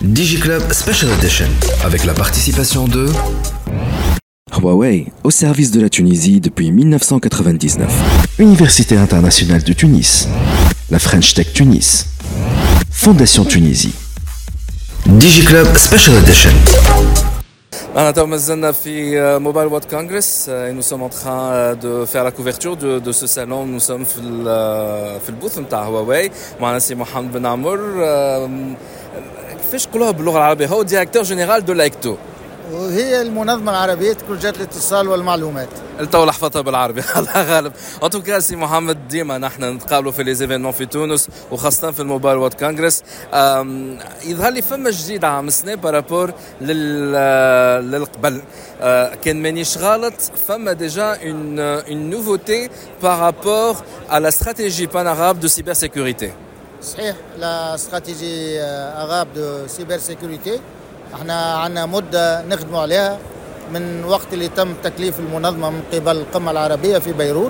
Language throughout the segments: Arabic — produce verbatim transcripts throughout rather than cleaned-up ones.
DigiClub Special Edition, avec la participation de Huawei, au service de la Tunisie depuis mille neuf cent quatre-vingt-dix-neuf. Université internationale de Tunis, la French Tech Tunis, Fondation Tunisie. DigiClub Special Edition. أنا تو مازلنا في موبايل وورد كونغرس. nous sommes en train de faire la couverture de, de ce salon. Nous sommes في في البوث نتاع هواوي. معنا سي محمد بن عمر. كيفاش نقولوها باللغة العربية؟ هو ديريكتور جينيرال دو لايكتو، وهي المنظمة العربية تكنولوجيات الاتصال والمعلومات. التو لحفتها بالعربي الله غالب. ان توكا سي محمد، ديما نحن نتقابلوا في لي زيفينمون في تونس وخاصة في الموبايل وورد كونغرس. يظهر لي فما جديد عام السنة بارابور لل للقبل. كان مانيش غلط فما ديجا اون اون نوفوتي بارابور à la stratégie pan-arabe de cybersécurité. صحيح، لا استراتيجي أغاب دو سيبر سيكوريتي احنا عندنا مدة نخدموا عليها من وقت اللي تم تكليف المنظمة من قبل القمة العربية في بيروت.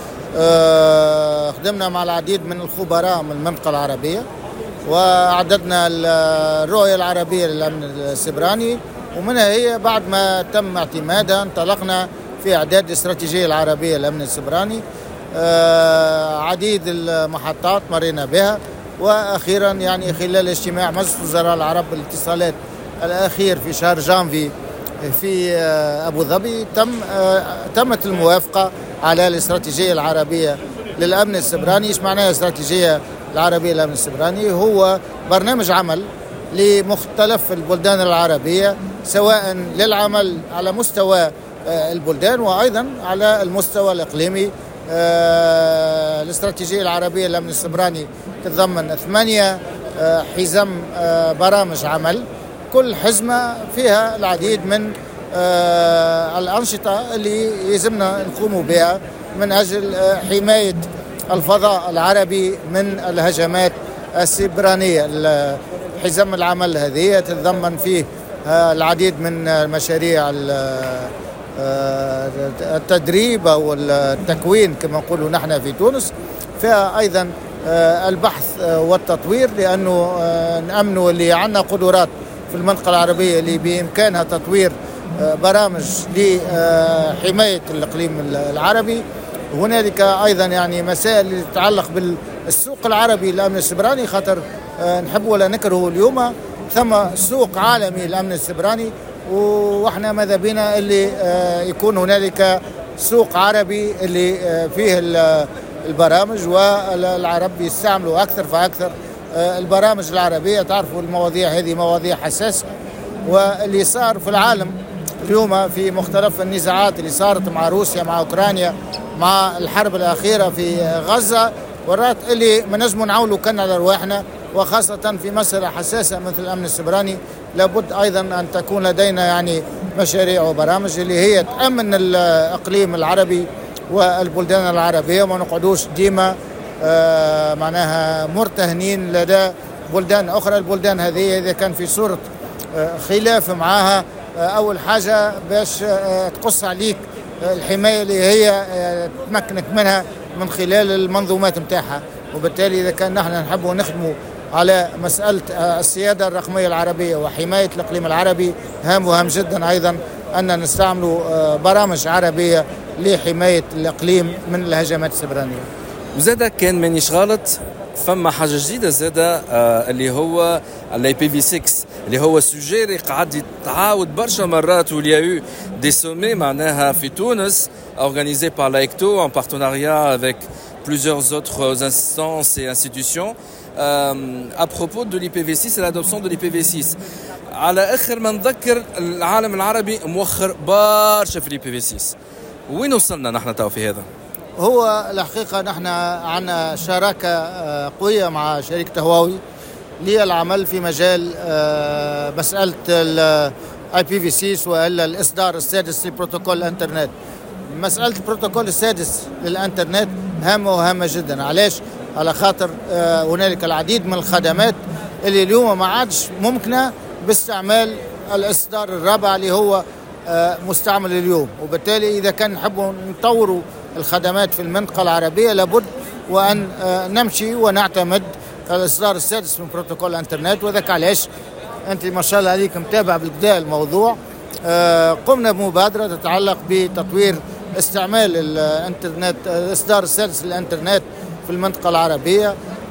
اه خدمنا مع العديد من الخبراء من المنطقة العربية وأعددنا الرؤية العربية للأمن السيبراني، ومنها هي بعد ما تم اعتمادها انطلقنا في إعداد الاستراتيجية العربية للأمن السيبراني. اه عديد المحطات مرينا بها، وأخيرا يعني خلال اجتماع مجلس وزراء العرب للاتصالات الأخير في شهر جانفي في أبو ظبي تم تمت الموافقة على الاستراتيجية العربية للأمن السيبراني. ايش معناها الاستراتيجية العربية للأمن السيبراني؟ هو برنامج عمل لمختلف البلدان العربية، سواء للعمل على مستوى البلدان وأيضا على المستوى الإقليمي. الاستراتيجية العربية للأمن السيبراني تتضمن ثمانية حزم برامج عمل، كل حزمة فيها العديد من الأنشطة اللي يلزمنا نقوم بها من أجل حماية الفضاء العربي من الهجمات السيبرانية. حزم العمل هذه تتضمن فيه العديد من مشاريع التدريب أو التكوين كما نقولوا نحن في تونس، فيها أيضا البحث والتطوير، لأنه نأمنوا اللي عندنا قدرات في المنطقة العربية اللي بإمكانها تطوير برامج لحماية الإقليم العربي. هنالك أيضا يعني مسائل تتعلق بالسوق العربي للأمن السيبراني، خاطر نحب ولا نكره اليوم ثم سوق عالمي للأمن السيبراني، وإحنا ماذا بنا اللي يكون هنالك سوق عربي اللي فيه البرامج، والعرب يستعملوا أكثر فأكثر البرامج العربية. تعرفوا المواضيع هذه مواضيع حساسة، واللي صار في العالم اليوم في مختلف النزاعات اللي صارت مع روسيا مع أوكرانيا مع الحرب الأخيرة في غزة، ورات اللي ما نجموا نعولوا كنا على رواحنا، وخاصة في مسألة حساسة مثل الأمن السيبراني لابد أيضا أن تكون لدينا يعني مشاريع وبرامج اللي هي تأمن الإقليم العربي والبلدان العربية، وما نقعدوش ديما آه معناها مرتهنين لدى بلدان أخرى. البلدان هذه إذا كان في صورة آه خلاف معها، آه أول حاجة باش آه تقص عليك آه الحماية اللي هي آه تمكنك منها من خلال المنظومات متاعها. وبالتالي إذا كان نحن نحب نخدموا على مسألة آه السيادة الرقمية العربية وحماية الإقليم العربي، هام وهام جدا أيضا أن نستعملوا آه برامج عربية لحماية الإقليم من الهجمات السيبرانية. وزادا كان مانيش غلط فما حاجة جديدة زادا آه اللي هو الاي بي في ستة، اللي هو سوجي اللي قاعد يتعاود برشا مرات، واللي يا دي سومي معناها في تونس organisé par l'AECTO en partenariat avec plusieurs autres instances et institutions euh, à propos de l'I P v six et l'adoption de l'I P v six. على آخر ما نذكر العالم العربي مؤخر برشا في l'I P v six. وين وصلنا نحن تو في هذا؟ هو الحقيقة نحن عنا شراكة قوية مع شركة هواوي للعمل في مجال مسألة ال آي بي في سيكس وإلا الإصدار السادس لبروتوكول الإنترنت. مسألة البروتوكول السادس للإنترنت هامة وهامة جدا. علاش؟ على خاطر هنالك العديد من الخدمات اللي اليوم ما عادش ممكنة باستعمال الإصدار الرابع اللي هو مستعمل اليوم، وبالتالي إذا كان نحبوا نطوروا الخدمات في المنطقة العربية لابد وأن نمشي ونعتمد الإصدار السادس من بروتوكول الإنترنت. وذاك علاش أنت ما شاء الله عليك متابع بالكدا الموضوع. قمنا بمبادرة تتعلق بتطوير استعمال الانترنت، الاصدار السادس للانترنت في المنطقة العربية،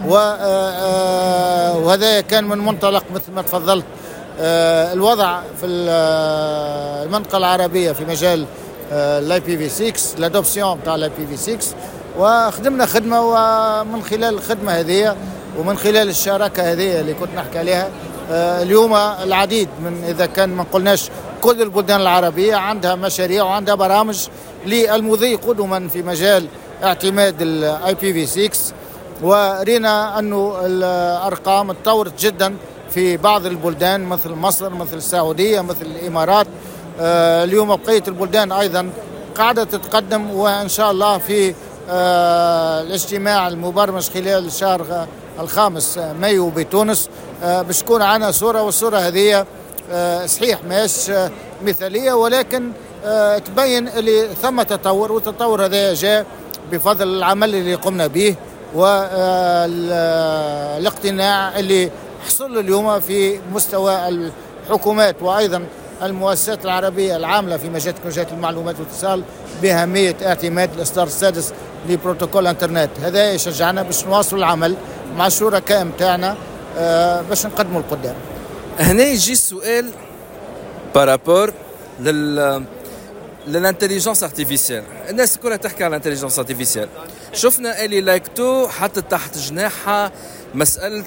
وهذا كان من منطلق مثل ما تفضلت الوضع في المنطقة العربية في مجال الاي بي في ستة، الادوبسيون تاع الاي بي في ستة، وخدمنا خدمة، ومن خلال الخدمة هذه ومن خلال الشراكة هذه اللي كنت نحكي عليها اليوم العديد من، إذا كان ما قلناش كل البلدان العربية عندها مشاريع وعندها برامج للمضي قدما في مجال اعتماد الاي بي في ستة، ورينا أنه الأرقام تطورت جدا في بعض البلدان مثل مصر، مثل السعودية، مثل الإمارات. اليوم بقية البلدان أيضا قاعدة تتقدم، وإن شاء الله في الاجتماع المبرمج خلال الشهر الخامس مايو بتونس باش تكون عنا صورة، والصورة هذه صحيح ماهيش مثالية، ولكن تبين اللي ثم تطور، والتطور هذا جاء بفضل العمل اللي قمنا به والاقتناع اللي حصل اليوم في مستوى الحكومات وأيضا المؤسسات العربية العاملة في مجال تكنولوجيا المعلومات والاتصال بأهمية اعتماد الإصدار السادس لبروتوكول انترنت. هذا يشجعنا باش نواصل العمل مع الشركاء متاعنا باش نقدموا القدام. هنا يجي السؤال بارابور لل للانتليجنس ارتيفيسيال. الناس كلها تحكي على الانتليجنس ارتيفيسيال. شفنا الي لايكتو حتى تحت جناحها مسألة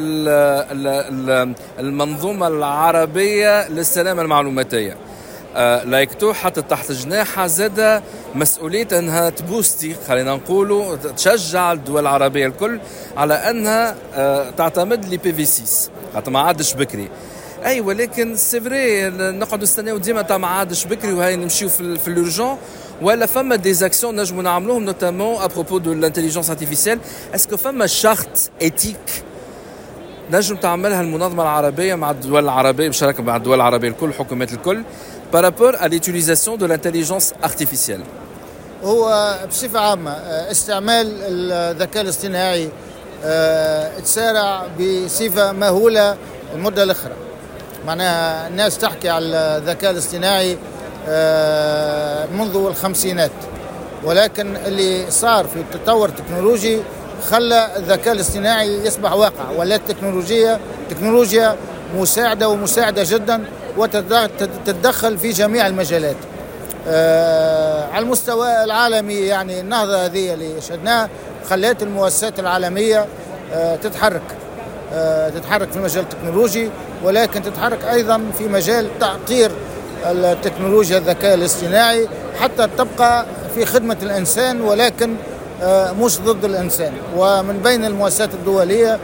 المنظومة العربية للسلامة المعلوماتية. لايكتو حتى تحت جناحها زاد مسؤولية أنها تبوستي، خلينا نقولوا تشجع الدول العربية الكل على أنها تعتمد لي بي في ستة، حتى ما عادش بكري. اي ولكن سي فري نقعدوا نستناو ديما تاع ما عادش بكري وهاي نمشيو في في لورجون، ولا فما دي زاكسيون نجمو نعملوهم نوتامون ابروبو دو لانتيليجنس ارتيفيسيال. اسكو فما شارت ايتيك نجم تعملها المنظمه العربيه مع الدول العربيه بشراكه مع الدول العربيه الكل، الحكومات الكل، بارابور ا ليتيليزاسيون دو لانتيليجنس ارتيفيسيال؟ هو بصفه عامه استعمال الذكاء الاصطناعي تسارع بصفه مهوله المده الاخرى. معناها الناس تحكي على الذكاء الاصطناعي منذ الخمسينات، ولكن اللي صار في التطور التكنولوجي خلى الذكاء الاصطناعي يصبح واقع، ولا التكنولوجيا تكنولوجيا مساعدة ومساعدة جدا وتتدخل في جميع المجالات. على المستوى العالمي يعني النهضة هذه اللي شهدناها خلت المؤسسات العالمية تتحرك تتحرك في المجال التكنولوجي، ولكن تتحرك أيضا في مجال تعطير التكنولوجيا الذكاء الاصطناعي حتى تبقى في خدمة الإنسان، ولكن مش ضد الإنسان. ومن بين المؤسسات الدولية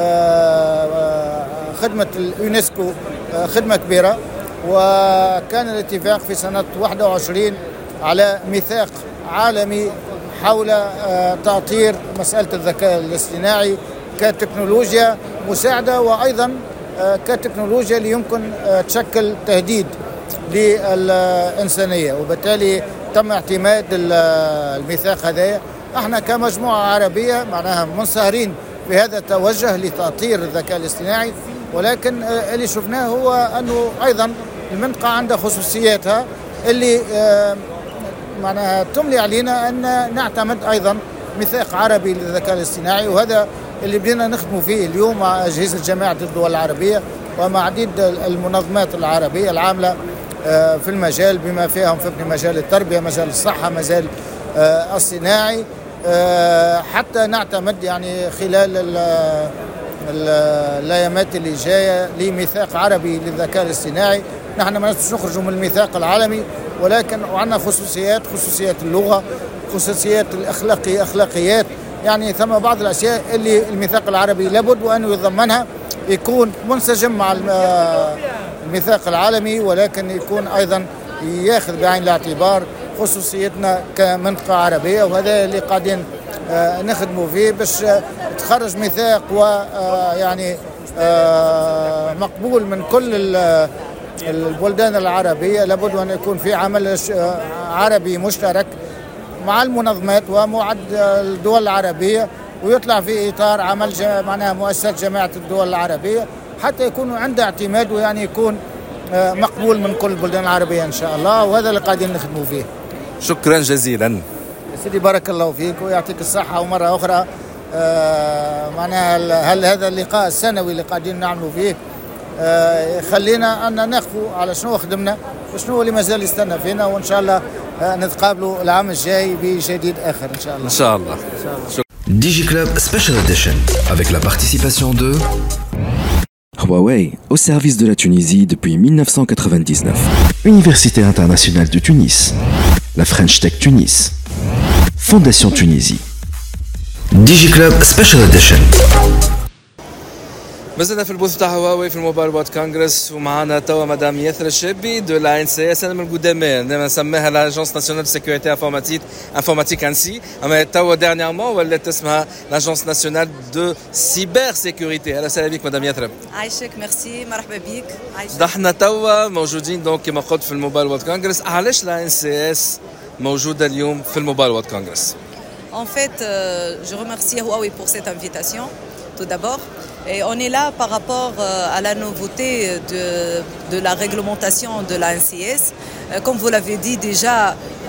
خدمة اليونسكو خدمة كبيرة، وكان الاتفاق في سنة واحد وعشرين على ميثاق عالمي حول تأطير مسألة الذكاء الاصطناعي كتكنولوجيا مساعدة، وأيضا كتكنولوجيا اللي يمكن تشكل تهديد للإنسانية، وبالتالي تم اعتماد الميثاق هذا. احنا كمجموعة عربية معناها منصهرين بهذا التوجه لتأطير الذكاء الاصطناعي، ولكن اللي شفناه هو أنه أيضا المنطقة عندها خصوصياتها اللي معناها تملي علينا أن نعتمد أيضا ميثاق عربي للذكاء الاصطناعي، وهذا اللي بدينا نخدموا فيه اليوم مع أجهزة جامعة الدول العربية ومع عديد المنظمات العربية العاملة في المجال، بما فيهم في مجال التربية، مجال الصحة، مجال الصناعي، حتى نعتمد يعني خلال الايامات اللي جايه لميثاق عربي للذكاء الاصطناعي. نحن ما نقدرش نخرجوا من الميثاق العالمي، ولكن عندنا خصوصيات، خصوصيات اللغه، خصوصيات الاخلاقي اخلاقيات، يعني ثم بعض الاشياء اللي الميثاق العربي لابد وانه يضمنها، يكون منسجم مع الميثاق العالمي، ولكن يكون ايضا ياخذ بعين الاعتبار خصوصيتنا كمنطقه عربيه. وهذا اللي قاعدين نخدموا فيه باش تخرج ميثاق ويعني مقبول من كل البلدان العربيه. لابد ان يكون في عمل عربي مشترك مع المنظمات ومع الدول العربيه، ويطلع في اطار عمل معناها مؤسسات جامعه الدول العربيه، حتى يكون عنده اعتماد ويعني يكون مقبول من كل البلدان العربية إن شاء الله، وهذا اللي قاعدين نخدموا فيه. شكرا جزيلا سيدي، بارك الله فيك ويعطيك الصحة. ومرة أخرى آه معناها هل هذا اللقاء السنوي اللي قاعدين نعملوا فيه آه خلينا أن نخفوا على شنو خدمنا وشنو اللي مازال يستنى فينا، وإن شاء الله آه نتقابلوا العام الجاي بجديد آخر إن شاء الله. إن شاء الله. DigiClub Special Edition avec la participation de Huawei, au service de la Tunisie depuis mille neuf cent quatre-vingt-dix-neuf. Université internationale de Tunis. La French Tech Tunis. Fondation Tunisie. DigiClub Special Edition. مازلنا في البوث تاع هواوي في الموبايل وورد كونغرس، ومعنا توا مدام ياسر الشابي دو لا ان سي اس. انا من القدامى نسميها لاجونس ناسيونال دو سيكوريتي انفورماتيك انفورماتيك انسي، اما توا ديرنييرمون ولات اسمها لاجونس ناسيونال دو سيبر سيكوريتي. اهلا وسهلا بك مدام ياسر. عايشك، ميرسي، مرحبا بك. عايشك. نحن توا موجودين دونك كما قلت في الموبايل وورد كونغرس. علاش لا ان سي اس موجوده اليوم في الموبايل وورد كونغرس؟ En fait, euh, je remercie Huawei pour cette invitation, tout d'abord. Et on est là par rapport euh, à la nouveauté de, de la réglementation de l'A N C S. Euh, comme vous l'avez dit déjà,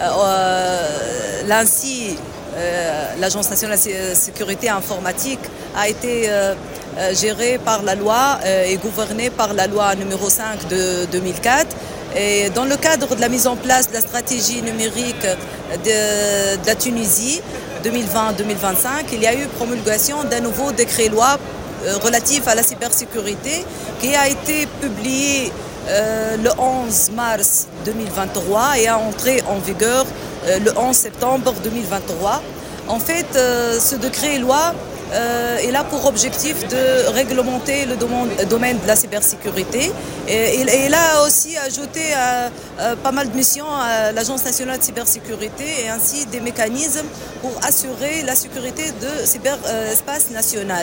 euh, l'ANSI, euh, l'Agence nationale de sécurité informatique, a été euh, euh, gérée par la loi euh, et gouvernée par la loi numéro cinq de deux mille quatre. Et dans le cadre de la mise en place de la stratégie numérique de, de la Tunisie deux mille vingt deux mille vingt-cinq, il y a eu promulgation d'un nouveau décret-loi relatif à la cybersécurité qui a été publié euh, le onze mars deux mille vingt-trois et a entré en vigueur euh, le onze septembre deux mille vingt-trois. En fait, euh, ce décret-loi euh, est là pour objectif de réglementer le domaine de la cybersécurité. Et il a aussi ajouté euh, euh, pas mal de missions à l'Agence nationale de cybersécurité et ainsi des mécanismes pour assurer la sécurité de cyberespace national.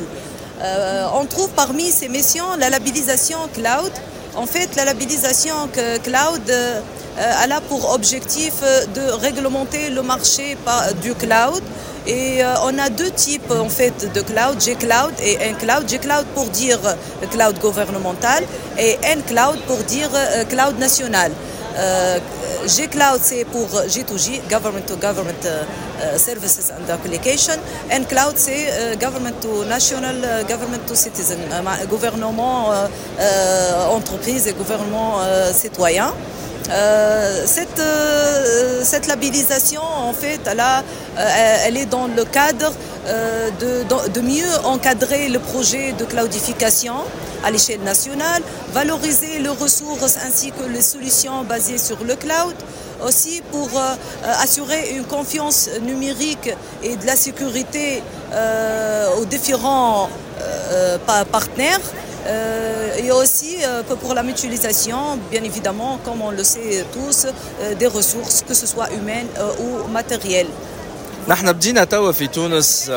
Euh, on trouve parmi ces missions la labellisation cloud. En fait, la labellisation cloud euh, a là pour objectif de réglementer le marché du cloud. Et euh, on a deux types en fait de cloud, G-Cloud et N-Cloud. G-Cloud pour dire cloud gouvernemental et N-Cloud pour dire euh, cloud national. Euh, G-Cloud c'est pour G deux G, Government to Government uh, uh, Services and Application. N-Cloud c'est uh, Government to National, uh, Government to Citizen, uh, gouvernement, uh, uh, entreprise et gouvernement uh, citoyen. Euh, cette, euh, cette labellisation, en fait, elle, a, euh, elle est dans le cadre euh, de, de mieux encadrer le projet de cloudification à l'échelle nationale, valoriser les ressources ainsi que les solutions basées sur le cloud, aussi pour euh, assurer une confiance numérique et de la sécurité euh, aux différents euh, partenaires. Euh, et aussi euh, pour la mutualisation, bien évidemment, comme on le sait tous, euh, des ressources, que ce soit humaines euh, ou matérielles. نحن بدينا توا في تونس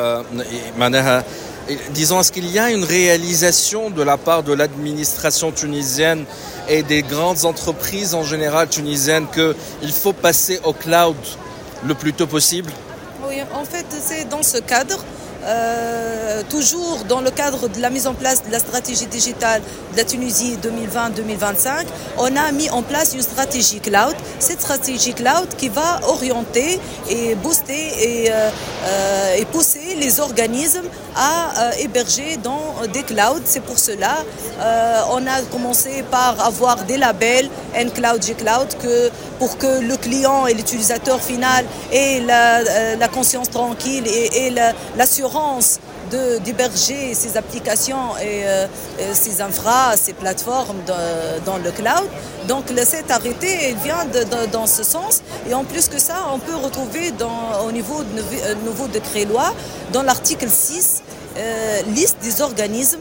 معناها disons est-ce qu'il y a une réalisation de la part de l'administration tunisienne et des grandes entreprises en général tunisiennes qu'il faut passer au cloud le plus tôt possible? Oui, en fait, c'est dans ce cadre. Euh, toujours dans le cadre de la mise en place de la stratégie digitale de la Tunisie deux mille vingt deux mille vingt-cinq, on a mis en place une stratégie cloud. Cette stratégie cloud qui va orienter et booster et, euh, euh, et pousser les organismes à euh, héberger dans des clouds. C'est pour cela euh, on a commencé par avoir des labels N-Cloud, G-Cloud que, pour que le client et l'utilisateur final ait la, la conscience tranquille et, et la, l'assurance De, d'héberger ces applications et euh, ces infras, ces plateformes de, dans le cloud. Donc le, cet arrêté il vient de, de, dans ce sens. Et en plus que ça, on peut retrouver dans, au niveau de euh, nouveau décret-loi, dans l'article six, euh, liste des organismes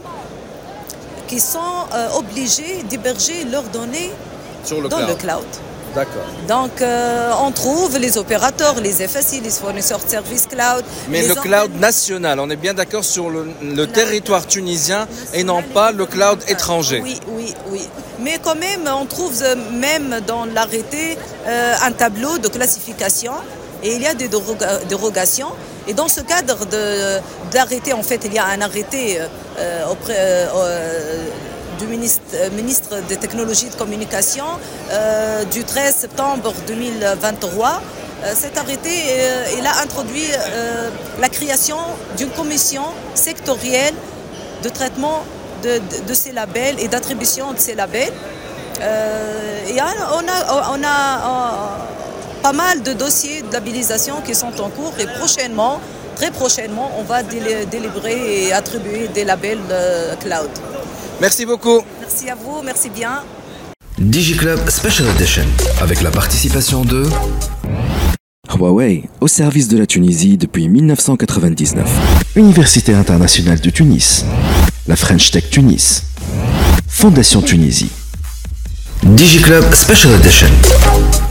qui sont euh, obligés d'héberger leurs données Sur le dans cloud. le cloud. D'accord. Donc euh, on trouve les opérateurs, les F S I, les fournisseurs de services cloud. Mais le cloud national, on est bien d'accord sur le, le territoire tunisien et non pas le cloud étranger. Oui, oui, oui. Mais quand même, on trouve même dans l'arrêté euh, un tableau de classification et il y a des déroga- dérogations. Et dans ce cadre de, de l'arrêté, en fait, il y a un arrêté euh, auprès, euh, du ministre, ministre des Technologies de Communication euh, du treize septembre deux mille vingt-trois. Euh, cet arrêté euh, il a introduit euh, la création d'une commission sectorielle de traitement de, de, de ces labels et d'attribution de ces labels. Euh, et on a, on a euh, pas mal de dossiers de labellisation qui sont en cours et prochainement, très prochainement, on va délé- délivrer et attribuer des labels euh, cloud. Merci beaucoup. Merci à vous, merci bien. DigiClub Special Edition avec la participation de Huawei, au service de la Tunisie depuis mille neuf cent quatre-vingt-dix-neuf. Université internationale de Tunis. La French Tech Tunis. Fondation Tunisie. DigiClub Special Edition.